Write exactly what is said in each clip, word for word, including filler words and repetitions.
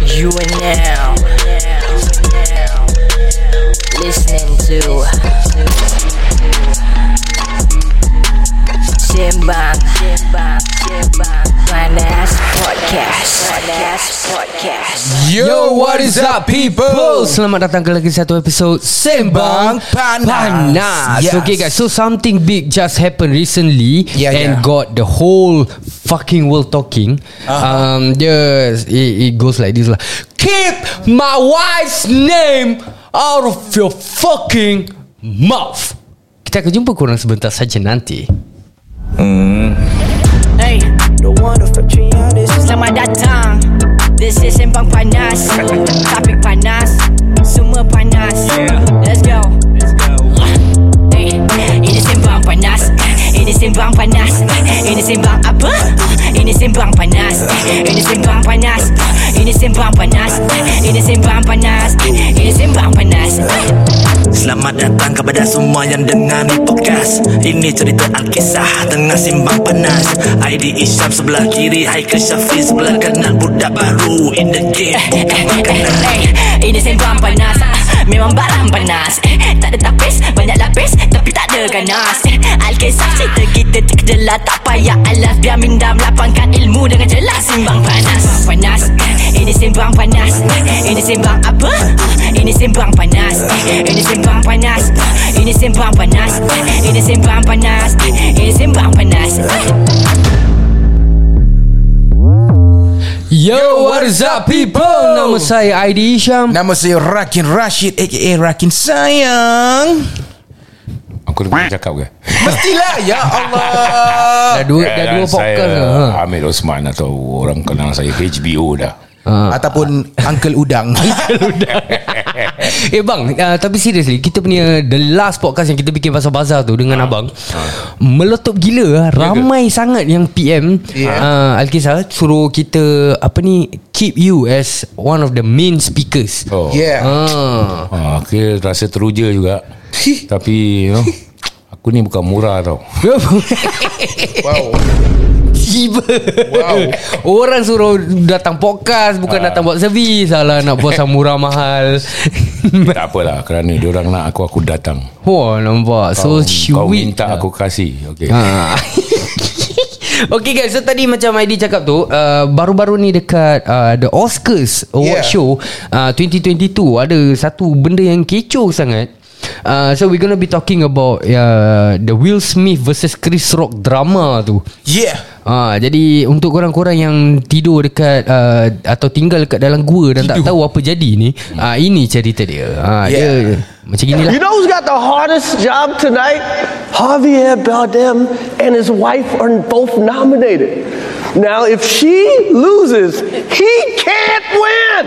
You are now listening to Sembang Panas Podcast. Podcast. Yo, what is up people? Selamat datang ke lagi satu episod Sembang Panas, Panas. Yes. Okay guys, so something big just happened recently yeah, and yeah. got the whole fucking world talking. uh-huh. Um, yes, it, it goes like this lah. Keep my wife's name out of your fucking mouth. Kita akan jumpa korang sebentar saja nanti. Hmm. Hey, selamat datang. This is Sembang Panas. Topik panas, semua panas. Let's go. Hey, ini Sembang Panas. Ini Sembang Panas. Ini Sembang apa? Ini Sembang Panas. Ini Sembang Panas. Ini Sembang Panas. Ini Sembang Panas. Ini Sembang Panas. Selamat datang kepada semua yang dengar ni podcast. Ini cerita Alkisah tengah Sembang Panas. I D Isyam sebelah kiri, Haikal Syafiq sebelah kanan. Budak baru in the game. Hey, ini Sembang Panas. Memang barang panas. Tak ada tapis, banyak lapis, tapi tak ada ganas. Alkisah cerita kita terkejelah, tak payah alas. Biar minda melapangkan ilmu dengan jelas. Sembang Panas. Panas. Ini Sembang Panas. Ini Sembang apa? Ini Sembang Panas. Ini Sembang Panas. Ini Sembang Panas. Ini Sembang Panas. Ini Sembang Panas. Yo, what is up people? Nama saya I D Isyam. Nama saya Rakin Rashid aka Rakin Sayang. Aku dah cakap ke? Mestilah. Ya Allah. Dah dua, dah dua podcast dah. Saya Hamid Osman atau orang kenal saya H B O dah. Ha. Ataupun Uncle Udang. Eh bang, uh, tapi seriously, kita punya the last podcast yang kita bikin pasal bazar tu dengan ha. abang ha. meletup gila. Ramai ya sangat yang P M yeah. uh, Alkisah suruh kita apa ni, keep you as one of the main speakers. Oh. Yeah. Ha. Ha, aku rasa teruja juga. Tapi you know, aku ni bukan murah tau. Wow. Tiba Wow. orang suruh datang podcast, bukan ha. datang buat servis. Salah nak buat murah mahal. Tak apalah, kerana diorang nak aku, aku datang. Wah, nampak so Kau, sweet. kau minta aku kasih. Okay. Ha. Okay guys, so tadi macam I D cakap tu, uh, baru-baru ni dekat uh, the Oscars Award Yeah. Show uh, twenty twenty-two ada satu benda yang kecoh sangat. Uh, so we're gonna be talking about uh, the Will Smith versus Chris Rock drama tu. Yeah. Ha, jadi untuk korang-korang yang tidur dekat uh, atau tinggal dekat dalam gua dan tidur. tak tahu apa jadi ni, uh, ini cerita dia. Ha, Yeah. dia macam ginilah. You know who's got the hardest job tonight? Javier Bardem and his wife are both nominated. Now, if she loses, he can't win.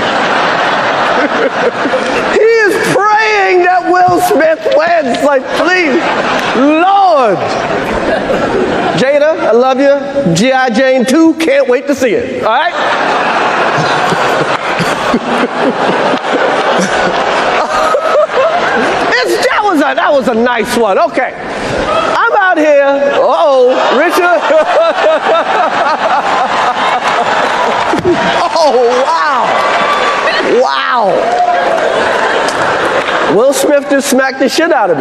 He is praying that Will Smith wins. Like, please, Lord. Jada, I love you. G I. Jane two, can't wait to see it. All right? It's, that was a that was a nice one. Okay, I'm out here. Uh-oh, Richard. Oh wow, wow. Will Smith just smacked the shit out of me.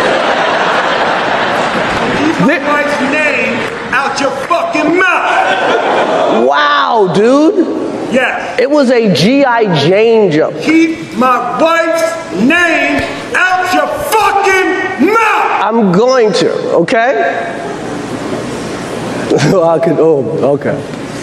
Keep my wife's name out your fucking mouth. Wow, dude. Yes. It was a G I. Jane joke. Keep my wife's name out your fucking mouth. I'm going to, okay? I could, oh, okay.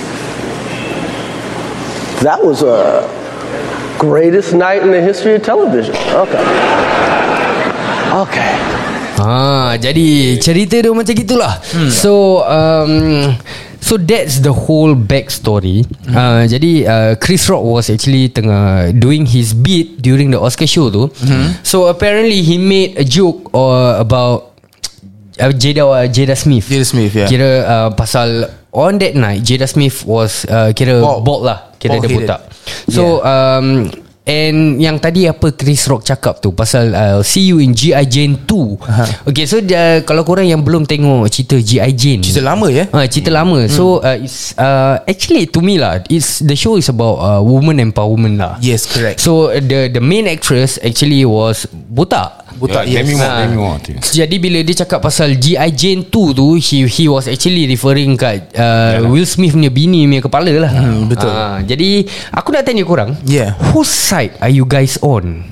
That was a greatest night in the history of television. Okay. Okay. Ah, jadi cerita dia macam gitulah. Hmm. So um So that's the whole backstory. Mm. uh, Jadi uh, Chris Rock was actually tengah doing his bit during the Oscar show tu. Mm-hmm. So apparently he made a joke uh, about uh, Jada uh, Jada Smith. Jada Smith, yeah. Kira uh, pasal on that night Jada Smith was uh, kira bald, bald lah. Kira bald dia headed. botak. So yeah. um And yang tadi apa Chris Rock cakap tu pasal uh, see you in G I. Jane two. uh-huh. Okay, so uh, kalau korang yang belum tengok cerita G I. Jane, cerita lama ya. uh, Cerita hmm. lama. So uh, it's uh, actually to me lah, it's the show is about uh, woman empowerment lah. Yes, correct. So the the main actress actually was botak. Butak, yeah, yes. Demi Moore, Ha. Demi Moore. Jadi bila dia cakap pasal G I. Jane two tu, he he was actually referring kat uh, Will Smith punya bini punya kepala lah. Hmm, betul. Uh, jadi aku nak tanya korang, Yeah. whose side are you guys on?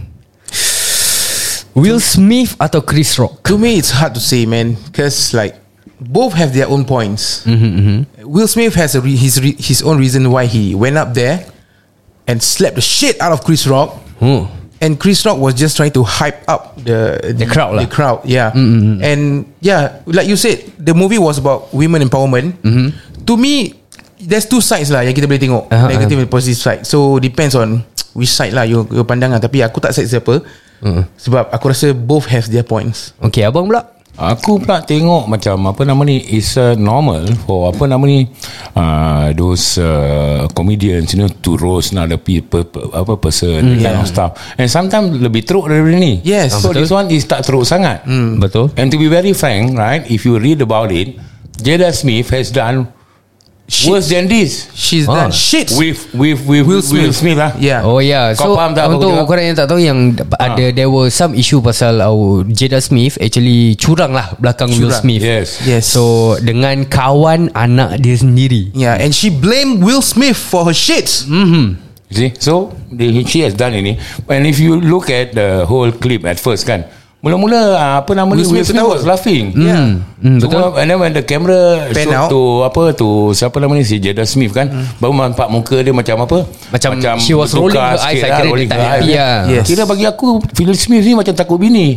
Will Smith atau Chris Rock? To me, it's hard to say, man, because like both have their own points. Mm-hmm, mm-hmm. Will Smith has a re- his re- his own reason why he went up there and slapped the shit out of Chris Rock. Oh. And Chris Rock was just trying to hype up the The crowd lah. The crowd, yeah. Mm-hmm. And yeah, like you said, the movie was about women empowerment. Mm-hmm. To me, there's two sides lah yang kita boleh tengok, Uh-huh, negative and positive side. So depends on which side lah you, you pandang lah. Tapi aku tak side siapa. Uh-huh. Sebab aku rasa both have their points. Okay, abang pula? Aku pula tengok macam apa nama ni, is uh, normal for apa nama ni, uh, those uh, comedians, you know, to roast another people, apa person, mm, kind yeah. of stuff. And sometimes lebih teruk daripada ni. Yes. So betul. this one is tak teruk sangat. Mm. Betul. And to be very frank, right, if you read about it, Jada Smith has done Shit. worse than this. She's Ah. done shit With with with Will Will Smith. Smith, Will Smith lah. Yeah. Oh yeah. Kau So faham tak apa untuk aku cakap? korang yang tak tahu, yang ada there was some issue pasal uh, Jada Smith actually curang lah belakang Will Curang. Smith. Yes. Yes. So dengan kawan anak dia sendiri. Yeah, and she blamed Will Smith for her shits. Mm-hmm. You see, so the, she has done ini. And if you look at the whole clip at first kan, mula-mula uh, apa nama ni, Will Will Smith Smith ketawa. was laughing. Yeah. Mm, Cuma, and then when the camera Pan show out. to apa tu siapa nama ni, si Jada Smith kan, mm. baru nampak muka dia macam apa, Macam she was rolling bertukar her eyes, sikit I lah, kira dia rolling tak her happy eyes. lah. Yes. Kira bagi aku Will Smith ni macam takut bini.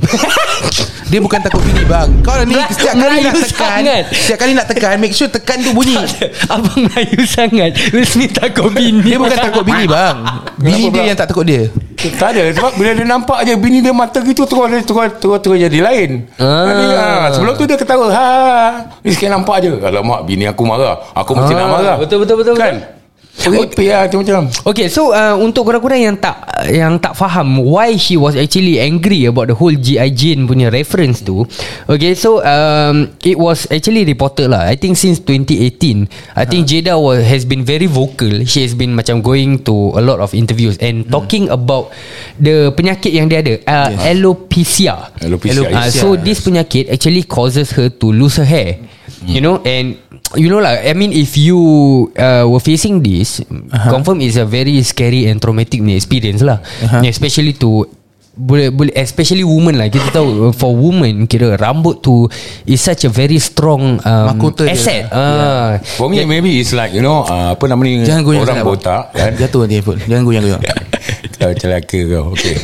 Dia bukan takut bini bang. Kau ni setiap kali nak Melayu tekan, sangat. setiap kali nak tekan, make sure tekan tu bunyi. Abang Melayu sangat. Will Smith takut bini. Dia bukan takut bini bang. Bini dia yang tak takut dia. Tak ada, sebab bila dia nampak je bini dia mata gitu, terus dia terus terus terus jadi lain. Ah. Jadi, ah, sebelum tu dia ketawa, ha, ni sekali nampak je. Alamak, bini aku marah, aku mesti Ah, nak marah. betul, betul, betul, Kan? Peripik lah macam-macam. Okay, so uh, untuk korang-korang yang tak yang tak faham why she was actually angry about the whole G I. Jane punya reference tu. Okay, so um, it was actually reported lah, I think since twenty eighteen. I think Jada was, has been very vocal. She has been macam going to a lot of interviews and hmm. talking about the penyakit yang dia ada, uh, yes. alopecia. Alopecia, Uh, yes. so this penyakit actually causes her to lose her hair. You know, and you know lah, I mean, if you uh, were facing this, uh-huh. confirm is a very scary and traumatic experience lah, uh-huh. especially to boleh boleh especially women lah. Kita tahu for women, kira rambut tu is such a very strong um, Mahkota dia. asset. Ah, For me, maybe it's like, you know, uh, apa nama ni, Jangan goyang orang sangat, bang. botak kan. Jatuh nanti handphone. Jangan goyang-goyang. Kau celaka kau. Okay.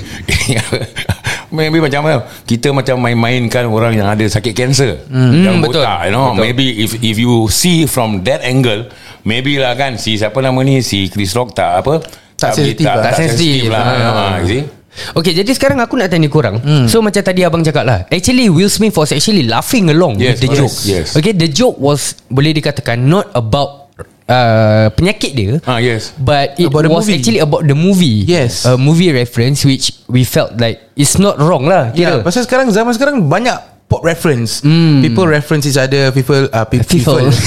Maybe macam mana, kita macam main-mainkan orang yang ada sakit kanser, Hmm, yang betul. botak, you know. Betul. Maybe if if you see from that angle, maybe lah kan, si siapa nama ni, si Chris Rock tak apa, Tak sensitif tak, lah. tak, Tak sensitif. sensitif lah. Ah. Ha, you see? Okay, jadi sekarang aku nak tanya korang. hmm. So macam tadi abang cakap lah, actually Will Smith was actually laughing along Yes, with the yes, joke. yes. Okay, the joke was boleh dikatakan not about uh, penyakit dia, Ah, yes. but it About the was movie. actually about the movie. Yes. A movie reference which we felt like it's not wrong lah. Yeah, Kira. pasal sekarang zaman sekarang banyak pop reference. Hmm. People reference each other. People uh, pe- People. people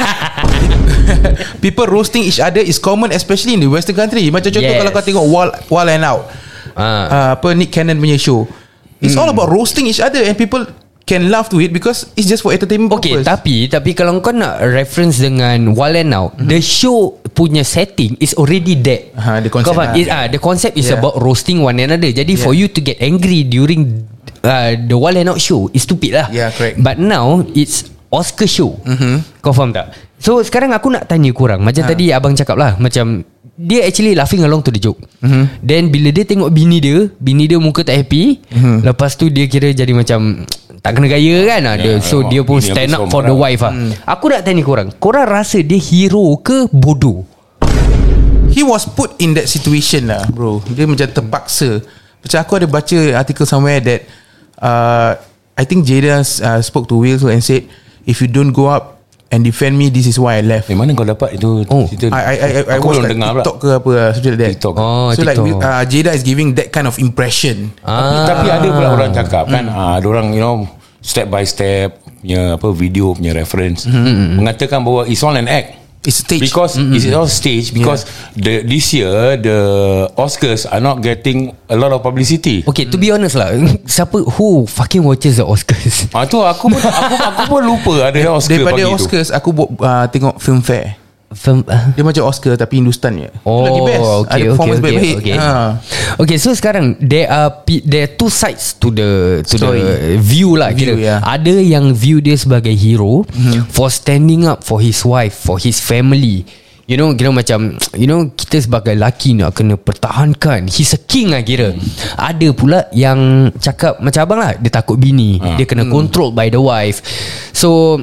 people roasting each other is common, especially in the Western country. Macam contoh, Yes. kalau kau tengok Wall Wall and Out, Ah. uh, apa Nick Cannon punya show, it's Hmm. all about roasting each other and people can laugh to it because it's just for entertainment Okay, purpose. tapi tapi kalau kau nak reference dengan Wild and Out, mm-hmm. the show punya setting is already there. Ha, the concept Kau faham? lah. It, ah, the concept is Yeah. about roasting one another. Jadi yeah. for you to get angry during uh, the Wild and Out show is stupid lah. Yeah, correct. But now it's Oscar show. Mm-hmm. Kau faham tak? So sekarang aku nak tanya korang, macam Ha. tadi abang cakap lah, macam dia actually laughing along to the joke. Mm-hmm. Then bila dia tengok bini dia, bini dia muka tak happy, mm-hmm. lepas tu dia kira jadi macam tak kena gaya kan. Yeah, so alamak, dia pun bini stand aku up for seorang the marah. wife lah. Mm. Aku nak tanya korang, korang rasa dia hero ke bodoh? He was put in that situation lah, bro. Dia macam terpaksa. Macam aku ada baca article somewhere that uh, I think Jada uh, spoke to Will and said, if you don't go up and defend me. This is why I left. Eh, mana kau dapat itu Oh, cerita? I I I, I Aku was belum like dengar pula. TikTok ke apa something like that. TikTok. Oh, So like TikTok. uh, Jada is giving that kind of impression. Tapi, tapi ada pula orang cakap kan, ah, ada orang you know step by step punya apa video punya reference mengatakan bahawa it's all an act. It's stage. Because mm-hmm. it's all stage. Because yeah. the this year the Oscars are not getting a lot of publicity. Okay, to be honest lah, siapa who fucking watches the Oscars? Ah tu aku pun aku, aku pun lupa ada Oscar Daripada pagi Oscars aku buat, uh, tengok film fair. Film, uh, Dia macam Oscar tapi Hindustan je. Oh, lagi best. okay, Ada okay, performance okay, baik-baik. okay. Ha. Okay, so sekarang there are pe- there are two sides to the to Story. the view lah. View, Kira. yeah. Ada yang view dia sebagai hero mm-hmm. for standing up for his wife, for his family. You know, kira macam, you know, kita sebagai lelaki nak kena pertahankan. He's a king lah kira. Hmm. Ada pula yang cakap macam abang lah, dia takut bini, ha. dia kena hmm. controlled by the wife. So,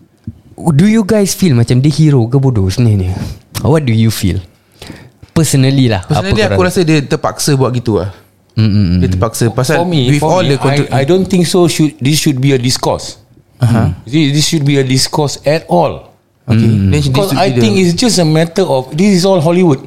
do you guys feel macam dia hero ke bodoh sebenarnya? What do you feel? Personally lah. Personally apa aku korang? rasa dia terpaksa buat gitu lah. Mm-mm. Dia terpaksa pasal For me, with for all me the control, I, I don't think so. Should this should be a discourse? Uh-huh. This should be a discourse at all. Okay. Hmm. Then she Because needs to I be think the- it's just a matter of this is all Hollywood.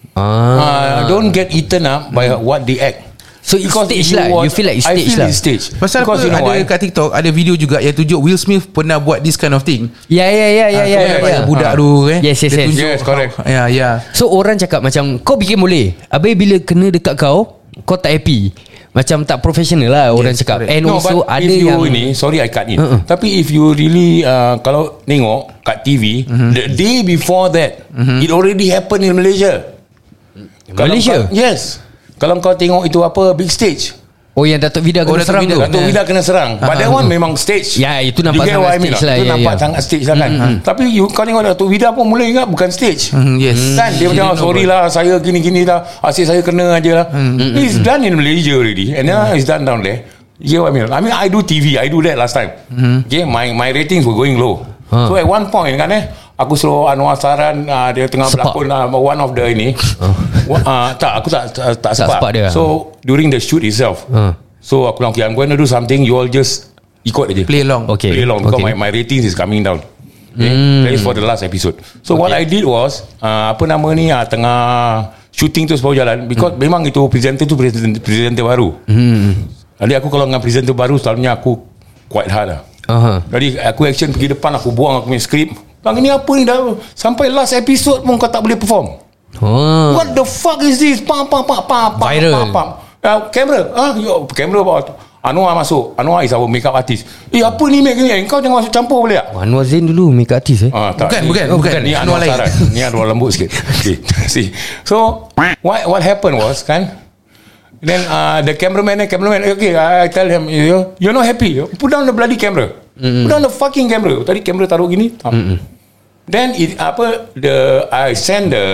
Ah. Uh, don't get eaten up by what they act. So it's Because stage if lah. watch- You feel like it's I stage feel lah. it's stage. Pasal Because apa you know ada why? kat TikTok ada video juga yang tunjuk Will Smith pernah buat this kind of thing. Ya ya ya ya ya. Kau ya. budak Ah. tu eh. Yes yes Dia yes. tunjuk Yes, correct. how- Ya ya. So orang cakap macam kau bikin boleh, habis bila kena dekat kau, kau tak happy. Macam tak professional lah orang Yes, cakap. correct. And No, also but ada if you yang ini, sorry I cut in. Uh-uh. Tapi if you really uh, kalau tengok kat T V, Uh-huh. the day before that, it already happened in Malaysia. Kalau Malaysia? kau, yes. Kalau kau tengok itu apa big stage. Oh yang Datuk Vida Oh, kena Datuk serang Vida tu. Datuk Vida kena serang. But that one memang stage. Ya, itu nampak You get sangat what I mean stage tak? lah, Itu ya, nampak ya. sangat stage lah kan. Tapi you, kau tengok Datuk Vida pun mula ingat bukan stage. Mm, yes. Kan dia macam sorry lah saya gini-gini lah, asyik saya kena aja lah. It's done in Malaysia already, and now it's done down there. You know what I mean? I mean I do T V, I do that last time. Okay, my my ratings were going low. Huh. So at one point kan eh, aku suruh Anwar Saran uh, dia tengah Sepak. berlakon uh, one of the ini. uh, tak, aku tak tak, tak sepak. sepak dia. So during the shoot itself, Huh. so aku bilang okay, I'm going to do something, you all just ikut aja. Play along. Okay. Play along because Okay. my, my ratings is coming down. Okay? That is for the last episode. So what I did was uh, apa nama ni uh, tengah shooting tu sebab jalan because Hmm. memang itu presenter tu presenter, presenter baru. Hmm. Jadi aku kalau dengan presenter baru selalunya aku quite hard lah. Aha. Jadi aku action pergi depan, aku buang aku punya skrip. Bang ni apa ni dah sampai last episode pun kau tak boleh perform. Oh. What the fuck is this? Pam pam pam pam pam. Viral. Pam, pam. Uh, kamera. Ah, yo, kamera bawa tu. Anwar masuk. Anwar is our makeup artist. Eh apa ni make ni? Kau jangan masuk campur boleh tak? Anwar Zain dulu make artist eh. Ah, tak. Bukan, Ni- bukan, oh, bukan. Ni Anwar Anwar lain. Saran. Ni Anwar lembut sikit. Okay. See. So what what happened was kan, then uh, the cameraman, cameraman, okay, I tell him, you you're not happy. Put down the bloody camera. Mm-hmm. Put down the fucking camera. Tadi kamera taruh gini. Mm-hmm. Then it, apa the I send the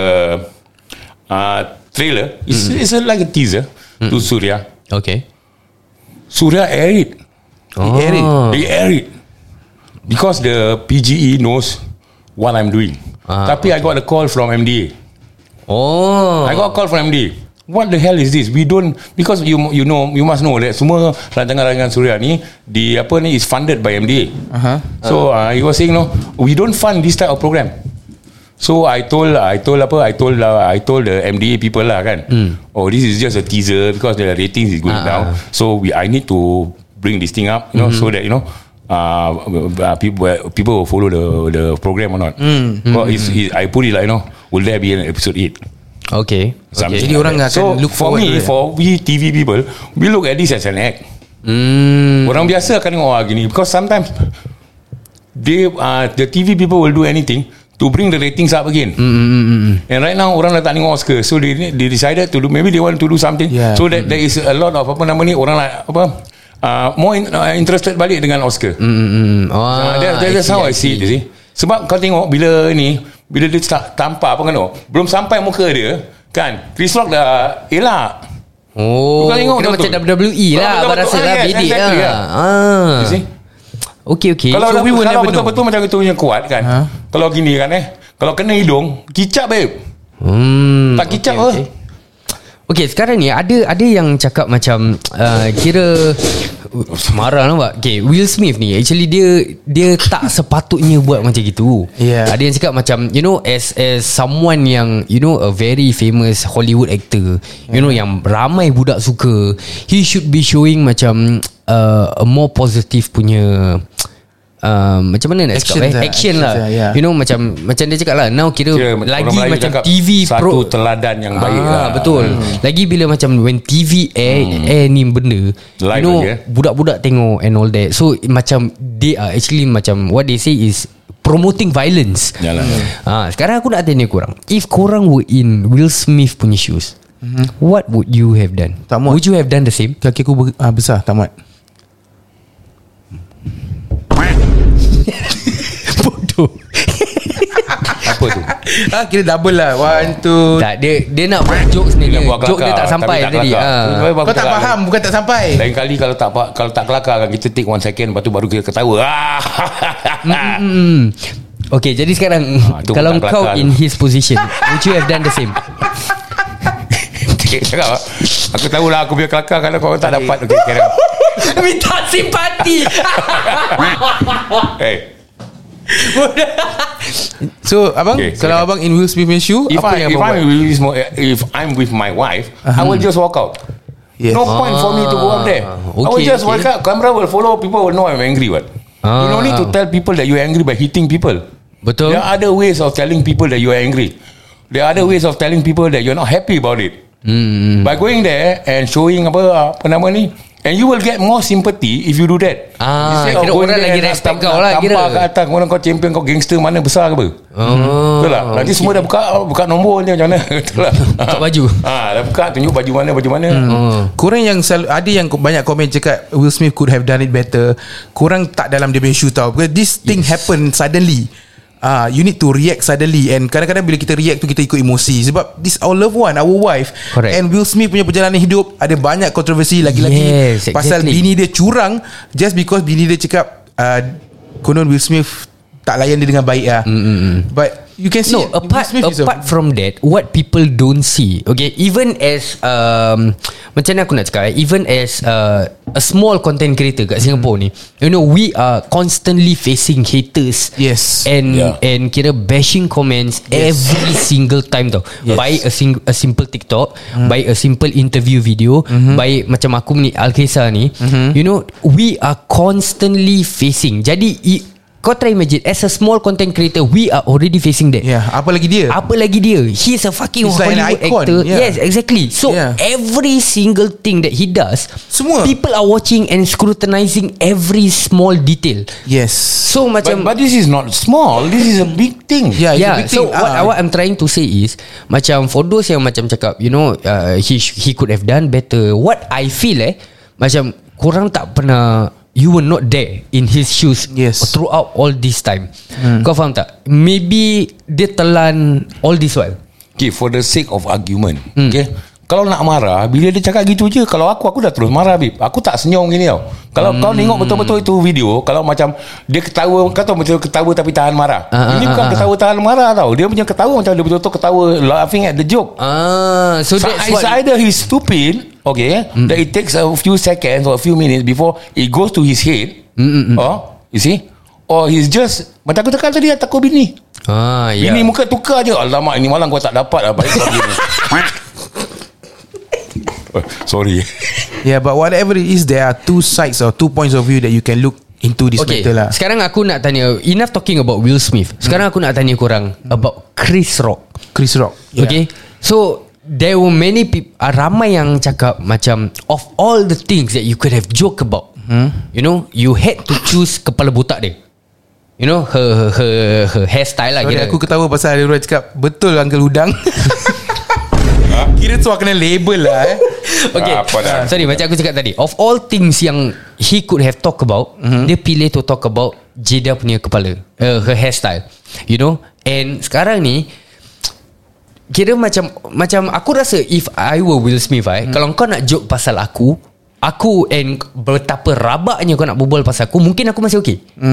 uh, trailer. It's, mm-hmm. it's like a teaser mm-hmm. to Surya. Okay. Surya air it. Oh. He air it. They air it because the P G E knows what I'm doing. Ah, Tapi I got a call from M D A. Oh. I got a call from M D A. What the hell is this? We don't, because you you know you must know that semua rancangan-rancangan Surya ni di apa ni is funded by M D A. Uh-huh. So uh, he was saying no, we don't fund this type of program. So I told I told apa I told uh, I told the M D A people lah kan. Oh, this is just a teaser because the ratings is going Ah, down. ah. So we I need to bring this thing up, you know, so that you know. Uh, uh, people people will follow the the program or not. Mm. Well, it's, it, I put it like you know, will there be an episode eight? Okay. Something Okay. Jadi orang like that. akan so look for forward me, to it. for we T V people, we look at this as an act. Hmm. Orang biasa akan tengok ah, gini because sometimes they uh, the T V people will do anything to bring the ratings up again. Mm, mm, mm, mm. And right now orang dah tak tengok Oscar, so they they decided to do, maybe they want to do something Yeah. so that there is a lot of apa nama ni orang like apa uh, more in, uh, interested balik dengan Oscar. Mm, mm, mm. Oh, Uh, that, that, that's how I see it, you see. Sebab kau tengok bila ni, bila dia start tampar apa kan tu, belum sampai muka dia kan, Chris Rock dah elak. Oh, Kau tengok kena betul-betul. macam W W E lah. Betul-betul. Abang rasa Ah, lah yes, bedek exactly, lah. yeah. Ah. You see? Okay, okay. Kalau, So, dah, we will kalau never know. betul-betul macam itu punya kuat kan, Ha? kalau gini kan eh, kalau kena hidung, kicap babe. Hmm. Tak kicap okay, okay, okay. Okay, sekarang ni ada ada yang cakap macam uh, kira marah nampak. Okay, Will Smith ni actually dia dia tak sepatutnya buat macam gitu. Yeah. Ada yang cakap macam, you know, as as someone yang, you know, a very famous Hollywood actor, you know, yang ramai budak suka, he should be showing macam uh, a more positive punya Uh, macam mana nak cakap eh? lah, Action lah, lah yeah. You know, macam macam dia cakap lah, now kira, kira lagi macam T V satu pro, teladan yang baik ah, lah. betul. hmm. Lagi bila macam when T V air, hmm. air ni benda live, you know, lagi, eh? budak-budak tengok and all that. So macam they are actually macam what they say is promoting violence. Yalah. hmm. ah, Sekarang aku nak tanya korang, if korang were in Will Smith punya shoes, mm-hmm. what would you have done? Tak muat. Would you have done the same? Kaki aku ber, ah, besar, tak muat. Bodoh. Apa tu? Ah, kira double lah. One, two. Tak, dia dia nak buat jokes ni. Dia buat Joke dia kelakar, tak sampai tapi tak tadi. kelakar. Ah. Kau tak faham, bukan tak sampai. Lain kali kalau tak kalau tak kelakar kan kita take one second, lepas tu baru kita ketawa. Ah. Mm-hmm. Okay, jadi sekarang Ah, tu kalau tak kau kelakar in tu. his position, would you have done the same? Cakap, aku tahulah aku biar kelakar kalau kau tak dapat. Okay, kira. Minta simpati. Hey. So abang, Okay, kalau silakan. abang in Will Smith punya shoe, If apa I yang if abang I'm buat? with, my- if I'm with my wife, I will just walk out. Yes. No point for me to go up there. I will okay, just okay. walk out. Camera will follow. People will know I'm angry. What? Ah. You don't need to tell people that you're angry by hitting people. Betul. There are other ways of telling people that you are angry. There are other ways of telling people that you're not happy about it. Hmm. By going there and showing apa apa nama ni, and you will get more sympathy if you do that. Ah, Instead of kira going orang there lagi and respect nak kau lah, tampar kira. kat atas, kemudian kau champion, kau gangster mana besar ke apa? Oh, Betul lah. Nanti semua dah buka buka nombor ni macam mana? Betul lah. Buka baju. Ah, dah buka tunjuk baju mana baju mana. Hmm. Korang yang selalu, ada yang banyak komen cakap Will Smith could have done it better. Korang tak dalam dia punya shoe tau, because this thing yes. happen suddenly. Ah, you need to react suddenly. And kadang-kadang bila kita react tu, kita ikut emosi. Sebab this our loved one, our wife. Correct. And Will Smith punya perjalanan hidup ada banyak kontroversi lagi-lagi. Yes, pasal exactly. bini dia curang, just because bini dia cakap uh, konon Will Smith tak layan dia dengan baik lah. mm-hmm. But you can see No, apart Will Smith apart from that, what people don't see, okay, even as um, macam mana aku nak cakap, eh, even as uh, a small content creator kat Singapore ni, you know, we are constantly facing haters. Yes. And Yeah. and kira bashing comments Yes. every single time tau. Yes. By a sing, a simple TikTok, mm. by a simple interview video, mm-hmm. by macam aku ni Al-Kaisar ni, mm-hmm. you know, we are constantly facing. Jadi i, kau try imagine, as a small content creator, we are already facing that. Yeah, apa lagi dia? Apa lagi dia? He's a fucking He's like an Hollywood icon, actor. yeah. Yes, exactly. So Yeah. every single thing that he does, Semua. people are watching and scrutinizing every small detail. Yes. So But, macam but this is not small. This is a big thing. Yeah, it's a yeah, big so thing. what, Ah. what I'm trying to say is, macam for those yang macam cakap, you know, uh, he he could have done better. What I feel eh, macam korang tak pernah, you were not there in his shoes. Yes. Throughout all this time. hmm. Kau faham tak? Maybe dia telan all this while. Okay, for the sake of argument, hmm. okay, kalau nak marah, bila dia cakap gitu je, kalau aku aku dah terus marah, Bib. Aku tak senyum gini tau. Kalau hmm. kau tengok betul-betul itu video, kalau macam dia ketawa, kau tahu betul ketawa tapi tahan marah. Ah, Ini ah, bukan ah, ketawa tahan marah tau. Dia punya ketawa macam dia betul-betul ketawa laughing at the joke. Ah, so, So that's it's what. either he's stupid, okay, mm. that it takes a few seconds or a few minutes before it goes to his head, Mm-mm. or you see, or he's just macam aku cakap tadi, takut bini. Ah, ya. Bini muka tukar je. Alamak, ini malam kau tak dapat lah. Baik kau begini. Oh, sorry. Yeah, but whatever it is, there are two sides or two points of view that you can look into this Okay, matter lah. sekarang aku nak tanya, enough talking about Will Smith. Sekarang aku nak tanya korang about Chris Rock. Chris Rock. Okay, so there were many people, uh, ramai yang cakap macam, of all the things that you could have joke about, hmm? you know, you had to choose kepala botak dia. You know, her her her, her hairstyle lah. Sorry, Kira aku ketawa pasal ada orang cakap betul Uncle Udang. Kira tu kena label lah eh. Okay, Apa dah? sorry, macam aku cakap tadi, of all things yang he could have talk about, mm-hmm. dia pilih to talk about Jada punya kepala, uh, her hairstyle, you know. And sekarang ni kira macam macam aku rasa if I were Will Smith, eh, mm. kalau kau nak joke pasal aku, aku and betapa rabaknya kau nak berbual pasal aku, mungkin aku masih okay. mm-hmm.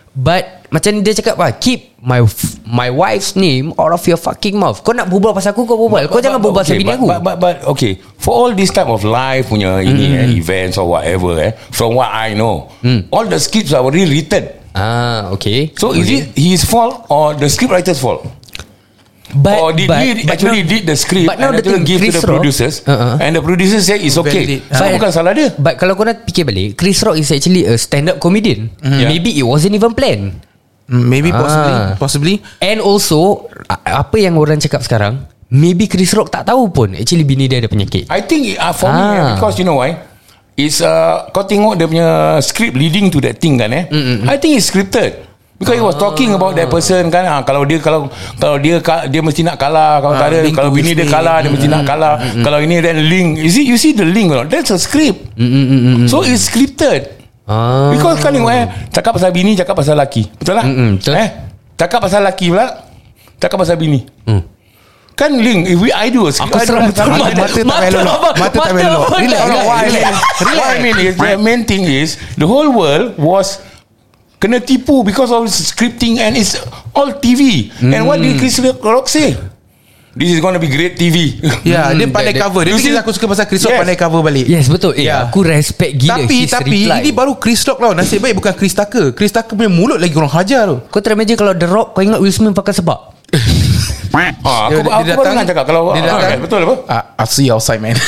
But macam dia cakap lah, keep my my wife's name out of your fucking mouth. Kau nak berbual pasal aku, kau berbual. Kau but, jangan but, berbual pasal okay, bini but, aku. But, but, but okay, for all this type of live punya ini Mm. eh, events or whatever eh, from what I know, Mm. all the scripts are already written. Ah, okay. So okay. is it his fault or the script writer's fault? But, or did but, he but actually now, did the script but now and the actually thing, give to Chris the Rock, producers uh-uh. and the producers say it's okay. Validate. So But- bukan salah dia. But kalau kau nak fikir balik, Chris Rock is actually a stand-up comedian. Yeah. Maybe it wasn't even planned. Maybe possibly Ah. Possibly And also a- apa yang orang cakap sekarang, maybe Chris Rock tak tahu pun actually bini dia ada penyakit. I think uh, for me Ah. because you know why? It's uh, kau tengok dia punya script leading to that thing kan eh. Mm-mm. I think it's scripted. Because he was talking about that person kan, ah, kalau dia kalau kalau dia dia mesti nak kalah, kalau Ah, tak ada, link kalau to bini Will dia Smith. kalah dia mesti nak kalah. Kalau ini then link. You see you see the link or not? That's a script. So it's scripted. Ah. Because kau tengok eh, cakap pasal bini, cakap pasal laki. Betul tak? Mm-mm, betul. Eh, cakap pasal laki pula, cakap pasal bini. Hmm. Kan link. If we I do a script, Aku I seram do- betul. Mata, mata tak payah lelok Mata tak payah lelok Relax No, no, relax, what I mean, relax. what I mean is the main thing is the whole world was kena tipu because of scripting and it's all T V. And what did Chris Rock say? This is going to be great T V. Ya, dia Hmm, pandai that- cover. Dia you see- aku suka pasal Chris Rock Yes. pandai cover balik. Yes, betul. Eh, Yeah. aku respect gila Tapi his tapi reply. ini baru Chris Rock tau. Nasib baik bukan Chris Tucker. Chris Tucker punya mulut lagi orang hajar tu. Kau try imagine kalau The Rock, kau ingat Will Smith pakai sebab. Ah, aku Dia- dia aku baru datang- nak cakap kalau dia ah, datang. kan, betul apa? Ah, I'll see you outside, man.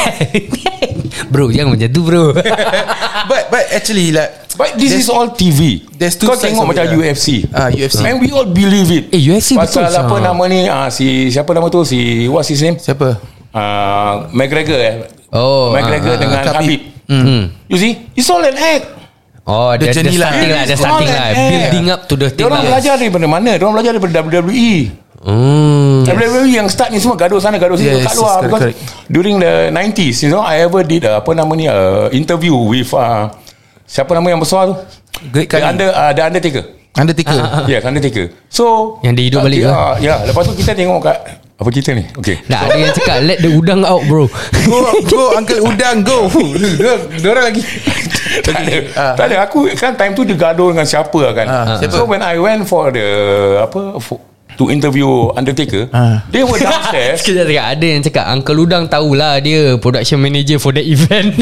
Bro, jangan macam tu bro. but but actually like But this there's- is all T V. there's two Kau sides tengok of macam it, U lah. F C. Ah, U F C. And we all believe it. Eh, U F C Pasal betul, apa sah. nama ni? Ah, si siapa nama tu? Si what's his name? Siapa? Uh, McGregor eh. Oh, McGregor ah, ah, dengan Khabib. Habib. Hmm. You see, it's all an act. Oh, The dia dia journey lah. starting lah, dia It's starting all lah, an act. building up to the thing Diorang lah. belajar daripada mana? Diorang belajar daripada W W E. Hmm. W W E yang start ni semua gaduh sana gaduh sini Yes, kat luar. yes, correct, Because correct. during the nineties, you know, I ever did uh, apa nama ni uh, interview with uh, siapa nama yang besar tu? Great The, Khali. under, uh, the Undertaker. Undertaker. Yes, Undertaker. So Yang dia hidup balik ke? uh, Ya, lepas tu kita tengok kat apa kita ni? Okay. Dah ada yang cakap let the udang out bro. Go go Uncle Udang go. Diorang lagi. Tak ada. Ah. Tak ada. Aku kan time tu dia gaduh dengan siapa kan. Ah, siapa? So when I went for the apa for, to interview Undertaker, Ah. they were downstairs. Sekejap cakap ada yang cakap Uncle Udang tahulah dia production manager for that event.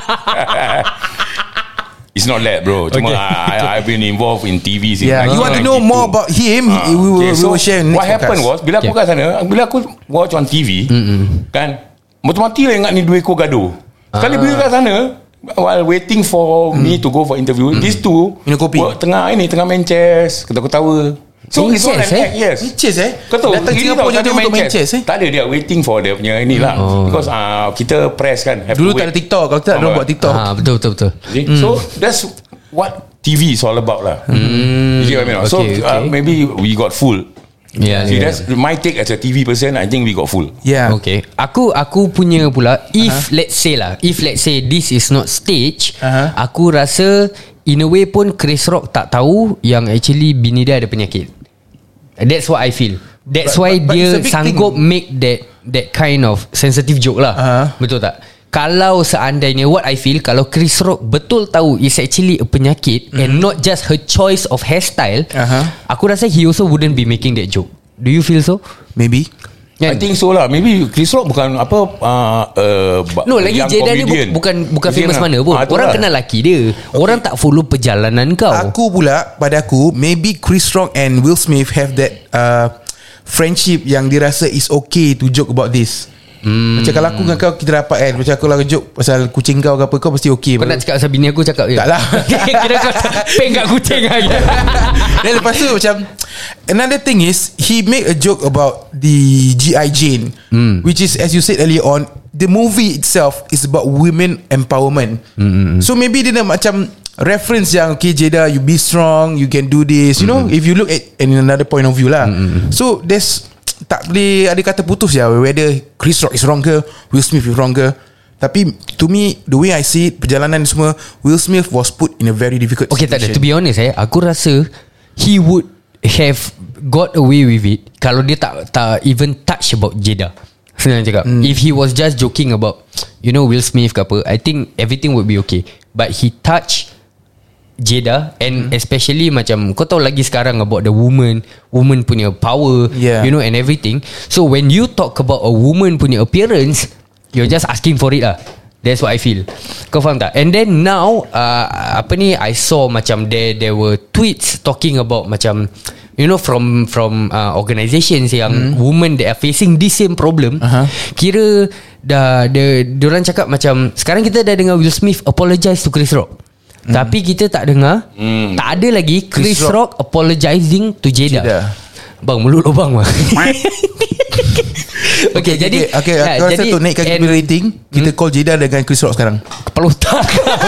It's not that, bro. Cuma Okay. I, I've been involved in T V since Yeah, you want to know more about him? Ah, we will, okay, we so will share next what happened podcast. was bila aku Okay. kat sana, bila aku watch on T V, kan, mati-mati lah ingat ni dua ekor gaduh. Sekali Ah. bila kat sana, while waiting for me to go for interview, these two Minum kopi. were tengah ini tengah main chess, ketawa-ketawa. So Main it's all an chess, eh? act, yes. Chess eh? Kau tahu Datang gini Singapore tau, je tak ada untuk main chess eh? Tak ada, dia waiting for dia punya inilah. Because uh, kita press kan, have Dulu to tak ada wait. TikTok. Kalau tak, Faham diorang tak? buat TikTok. Ah, betul betul betul. See? So that's what T V is all about lah. You get what I mean? So Okay, uh, okay. maybe we got full. Yeah, See, yeah. that's my take as a T V person. I think we got full. Yeah. Okay. Aku aku punya pula if uh-huh. let's say lah, if let's say this is not stage, Uh-huh. aku rasa in a way pun Chris Rock tak tahu yang actually bini dia ada penyakit. That's what I feel. That's But- why but- but dia it's a big sanggup thing. make that that kind of sensitive joke lah. Uh-huh. Betul tak? Kalau seandainya what I feel, kalau Chris Rock betul tahu it's actually a penyakit mm-hmm. and not just her choice of hairstyle, Uh-huh. aku rasa he also wouldn't be making that joke. Do you feel so? Maybe. I think so lah. Maybe Chris Rock bukan apa uh, uh, No, lagi Jada ni bu- bukan bukan famous mana pun. Ah, Orang kenal laki dia. Orang tak follow perjalanan kau. Aku pula, pada aku, maybe Chris Rock and Will Smith have that uh, friendship yang dirasa is okay to joke about this. Hmm. Macam kalau aku dengan kau kita rapat kan, macam aku lah joke pasal kucing kau ke apa, kau mesti okay. Kau nak cakap pasal bini aku, cakap je. Tak lah. Kira kau peng kat kucing lagi. Dan lepas tu macam another thing is he make a joke about the G I Jane, mm. which is as you said earlier on, the movie itself is about women empowerment. Mm-hmm. So maybe dia nak macam reference yang okay Jada, you be strong, you can do this, you mm-hmm. know, if you look at in another point of view lah. Mm-hmm. So there's tak boleh ada kata putus ya whether Chris Rock is wrong ke Will Smith is wrong ke. Tapi to me, the way I see it, perjalanan semua, Will Smith was put in a very difficult Okay, tak ada. situation. To be honest eh, aku rasa he would have got away with it kalau dia tak tak even touch about Jada. Senang cakap. Mm. If he was just joking about, you know, Will Smith ke apa, I think everything would be okay. But he touch Jada, and especially macam kau tahu lagi sekarang about the woman, woman punya power, Yeah. you know, and everything. So when you talk about a woman punya appearance, you're just asking for it lah. That's what I feel. Kau faham tak? And then now uh, apa ni, I saw macam there there were tweets talking about macam, you know, from from uh, organisations yang mm. women that are facing this same problem. Uh-huh. Kira dah dia diorang cakap macam sekarang kita dah dengar Will Smith apologize to Chris Rock. Mm. Tapi kita tak dengar, mm. tak ada lagi Chris, Chris Rock, Rock apologizing to Jada. Jada. Bang, mulut lubang bang. Okay, okay, jadi okay, okay, ya, aku rasa tu naikkan kita rating, kita hmm? call Jada dengan Chris Rock sekarang. Kepala otak.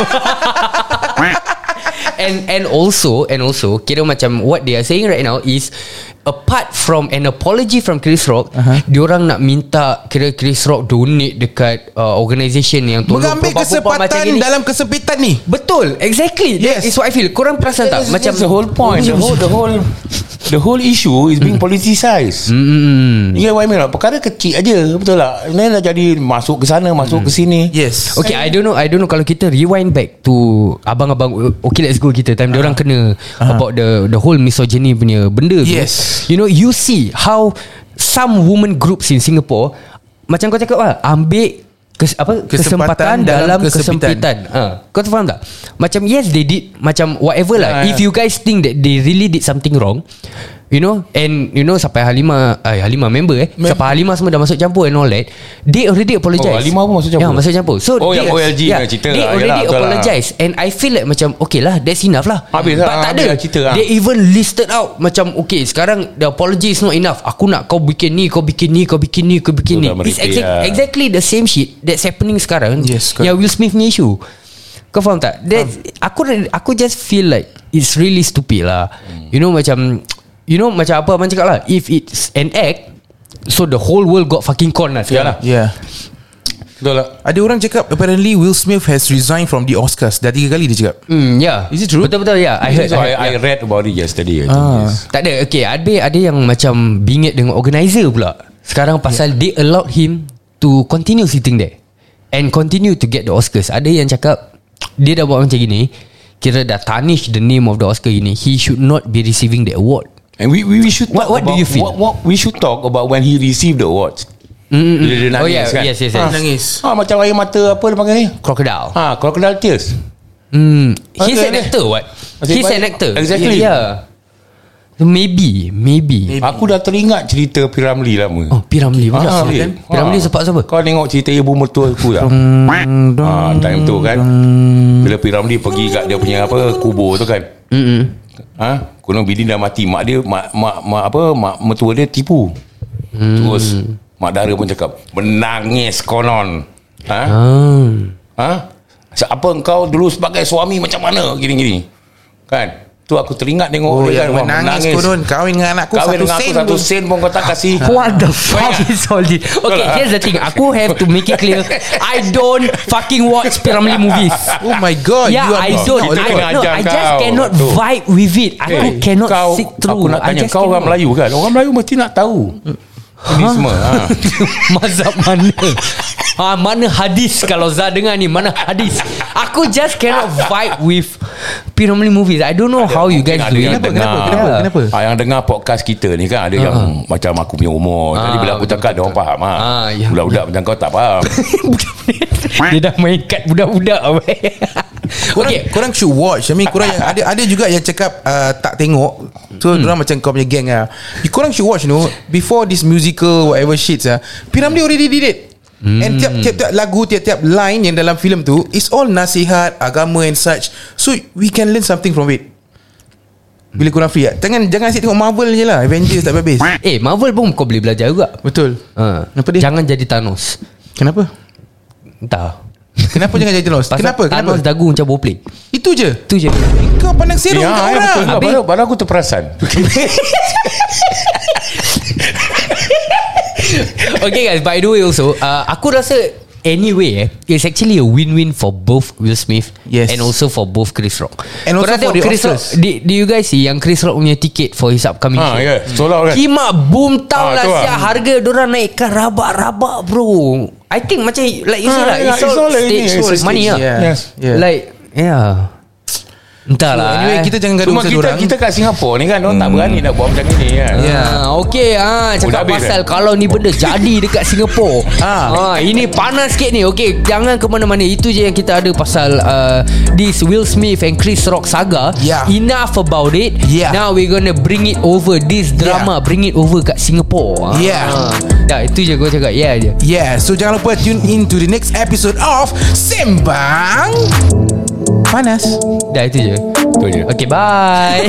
And and also and also kira macam what they are saying right now is, apart from an apology from Chris Rock, uh-huh. diorang nak minta kira Chris Rock donate dekat uh, organisation yang tolong mengambil kesempatan dalam kesempitan ni. Betul, exactly. Yes. That is what I feel. Korang perasan tak? That's, macam that's the whole point. The whole the whole the whole issue is being politicized. Mm. You get what I mean? Perkara kecil aja, betul tak? Ini dah jadi masuk ke sana, masuk mm. ke sini. Yes. Okay, I don't know. I don't know kalau kita rewind back to abang-abang Okay Let's Go kita time uh-huh. diorang kena uh-huh. about the the whole misogyny punya benda tu. Yes. You know, you see how some women groups in Singapore, macam kau cakap lah, ambil kes, apa, kesempatan, kesempatan dalam, dalam kesempitan, kesempitan. Ha, kau faham tak? Macam yes they did, macam whatever lah. uh, If you guys think that they really did something wrong, you know, and you know sampai Halimah eh, Halimah member eh Mem- sampai Halimah semua dah masuk campur and all that, they already apologize. Oh, Halimah pun masuk campur. Ya, masuk campur. So oh, they, yang O L G yeah, cerita they lah. already Yalah, apologize lah. And I feel like macam okay lah, that's enough lah. Habis But lah, tak ada cerita lah. They even listed out macam okay, sekarang the apology is not enough. Aku nak kau bikin ni, kau bikin ni, kau bikin ni, kau bikin ni. It's exact, lah. exactly the same shit that's happening sekarang. Yes, yang Will Smith ni issue. Kau faham tak? That, um. Aku aku just feel like it's really stupid lah. Hmm. You know macam, you know macam apa abang cakap lah, if it's an act, so the whole world got fucking con lah sekarang. Yeah, yeah. Betul lah. Ada orang cakap apparently Will Smith has resigned from the Oscars. Dah tiga kali dia cakap. Hmm, yeah. Is it true? Betul-betul ya. Yeah. I heard. So I, I, I read about it yesterday. Ah. Yes. Tak ada. Okay, ada ada yang macam bingit dengan organizer pula sekarang pasal yeah. they allowed him to continue sitting there and continue to get the Oscars. Ada yang cakap dia dah buat macam gini, kira dah tarnish the name of the Oscar ini, he should not be receiving the award. And we we, we should what, what about, do you feel? What, what we should talk about when he received the awards. Mm-hmm. Dia, dia nangis, oh yeah, kan? yes, yes, yes. Ha, nangis. Ha, macam air mata apa dia panggil ni? Crocodile. Ha, crocodile tears. Hmm. He's Okay, an actor, what? Masih He's baik. an actor. Exactly. Yeah. So maybe, maybe. maybe. Aku dah teringat cerita P. Ramlee lama. Oh, P. Ramlee pula. Ah, kan? P. Ramlee sebab siapa? Kau tengok cerita ibu mertua aku tak? Ha, time tu kan. Bila P. Ramlee pergi kat dia punya apa kubur tu kan. Hmm. Ha, konon bini dah mati, mak dia mak mak, mak apa mak mertua dia tipu. Hmm. Terus mak dara pun cakap menangis konon. Ha? Hmm. Ha? Apa engkau dulu sebagai suami macam mana gini-gini. Kan? Tu aku teringat tengok Oh dia yang kan menangis, menangis konon kahwin dengan anakku kahwin satu dengan aku sen satu pun. sen pun kau tak kasih. What the fuck is all this? Okay, here's the thing. Aku have to make it clear, I don't fucking watch P. Ramlee movies. Oh my god. Yeah, you are I not- don't. Kita I, kena no, ajar I just kau. cannot Tu. vibe with it. Aku Eh, cannot kau, sit through. Aku nak I tanya just kau orang cannot. Melayu kan. Orang Melayu mesti nak tahu ini semua. Ha. Mazhab mana? Ha, mana hadis kalau Zah dengar ni? Mana hadis? Aku just cannot vibe with P. Ramlee movies. I don't know Ada, how you mungkin guys ada do yang it. dengar. Kenapa? Kenapa? Kenapa? Ah, yang dengar podcast kita ni kan ada yang Ah. macam aku punya umur. Jadi Ah, bila aku betul, cakap dia betul. orang faham ah. Ah, ya. Budak-budak macam kau tak faham. Dia dah main kat budak-budak. Korang, okay. korang should watch. I mean korang yang ada ada juga yang cakap uh, tak tengok. So hmm. orang macam kau punya gang ah. Korang should watch, you know, before this musical whatever shit ah. P. Ramlee already did it. Hmm. And tiap-tiap lagu, tiap-tiap line yang dalam filem tu is all nasihat agama and such. So we can learn something from it. Bila korang free ah. Jangan jangan asyik tengok Marvel je lah. Avengers tak habis. Eh, Marvel pun kau boleh belajar juga. Betul. Ha. Kenapa dia? Jangan jadi Thanos. Kenapa? Entah. Kenapa jangan jadi Thanos? Pasal Kenapa? Kenapa? Thanos dagu macam bowplay. Itu je. Itu je. Kau pandang serong Ya, kat ya, orang. betul. Habis- Baru, baru aku terperasan. Okay guys, by the way also uh, aku rasa anyway eh, it's actually a win-win for both Will Smith Yes. and also for both Chris Rock. And also Korang for tengok the Chris Rock, Oscars. do, do you guys see yang Chris Rock punya tiket for his upcoming Ha, show? ya, sold out kan. Kimak boom tau Ah, lah tu lah. siap. Harga dorang naikkan rabak-rabak bro. I think macam like you Ah, see lah, yeah, it's it's all all like stage ini, it's all money stage, lah. yeah. Yes. Yeah. Like yeah. Entahlah. So, anyway, kita jangan gaduh Cuma pasal kita, dorang. kita kat Singapura ni kan, orang tak berani nak buat macam ni kan. Ya. Ah, okey ah cakap dah habis, pasal eh? kalau ni benda jadi dekat Singapura. Ah. ah ini panas sikit ni. Okey, jangan ke mana-mana. Itu je yang kita ada pasal uh, this Will Smith and Chris Rock saga. Yeah. Enough about it. Yeah. Now we're gonna bring it over this drama, Yeah. bring it over kat Singapura. Yeah. Ah. Ya, itu je gua cakap. Ya yeah, je. Yeah, so jangan lupa tune in to the next episode of Sembang Panas. Dah itu je. Itu je. Okey, bye.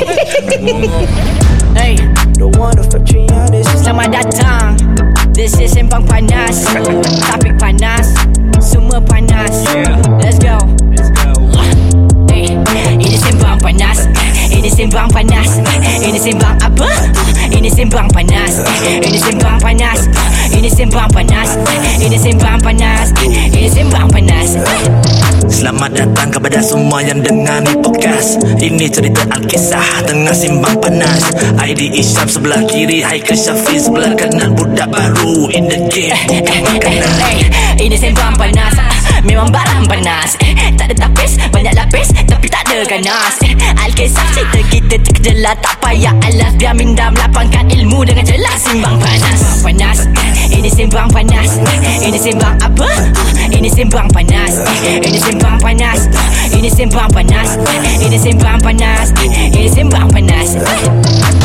Hey, selamat datang. This is Sembang Panas. Topik panas, semua panas. Let's go. Hey, ini Sembang Panas. Ini Sembang Panas. Ini Sembang apa? Ini Sembang Panas. Ini Sembang Panas. Ini Sembang Panas. Ini Sembang Panas. Ini Sembang Panas. Selamat datang kepada semua yang dengar ni podcast. Ini cerita Alkisah tengah simbang panas. I D Isyam sebelah kiri, Haikal Syafiq sebelah kanan. Budak baru in the game, bukan makanan. Hey, ini Sembang Panas. Memang barang panas. Tak ada tapis, banyak lapis, tapi tak ada ganas. Alkisah cerita kita terkejelah, tak payah alas. Biar minda melapangkan ilmu dengan jelas. Simbang Panas. Panas. Ini Sembang Panas. Ini Sembang apa? Ini Sembang Panas. Ini Sembang Panas. Ini Sembang Panas. Ini Sembang Panas. Ini Sembang Panas.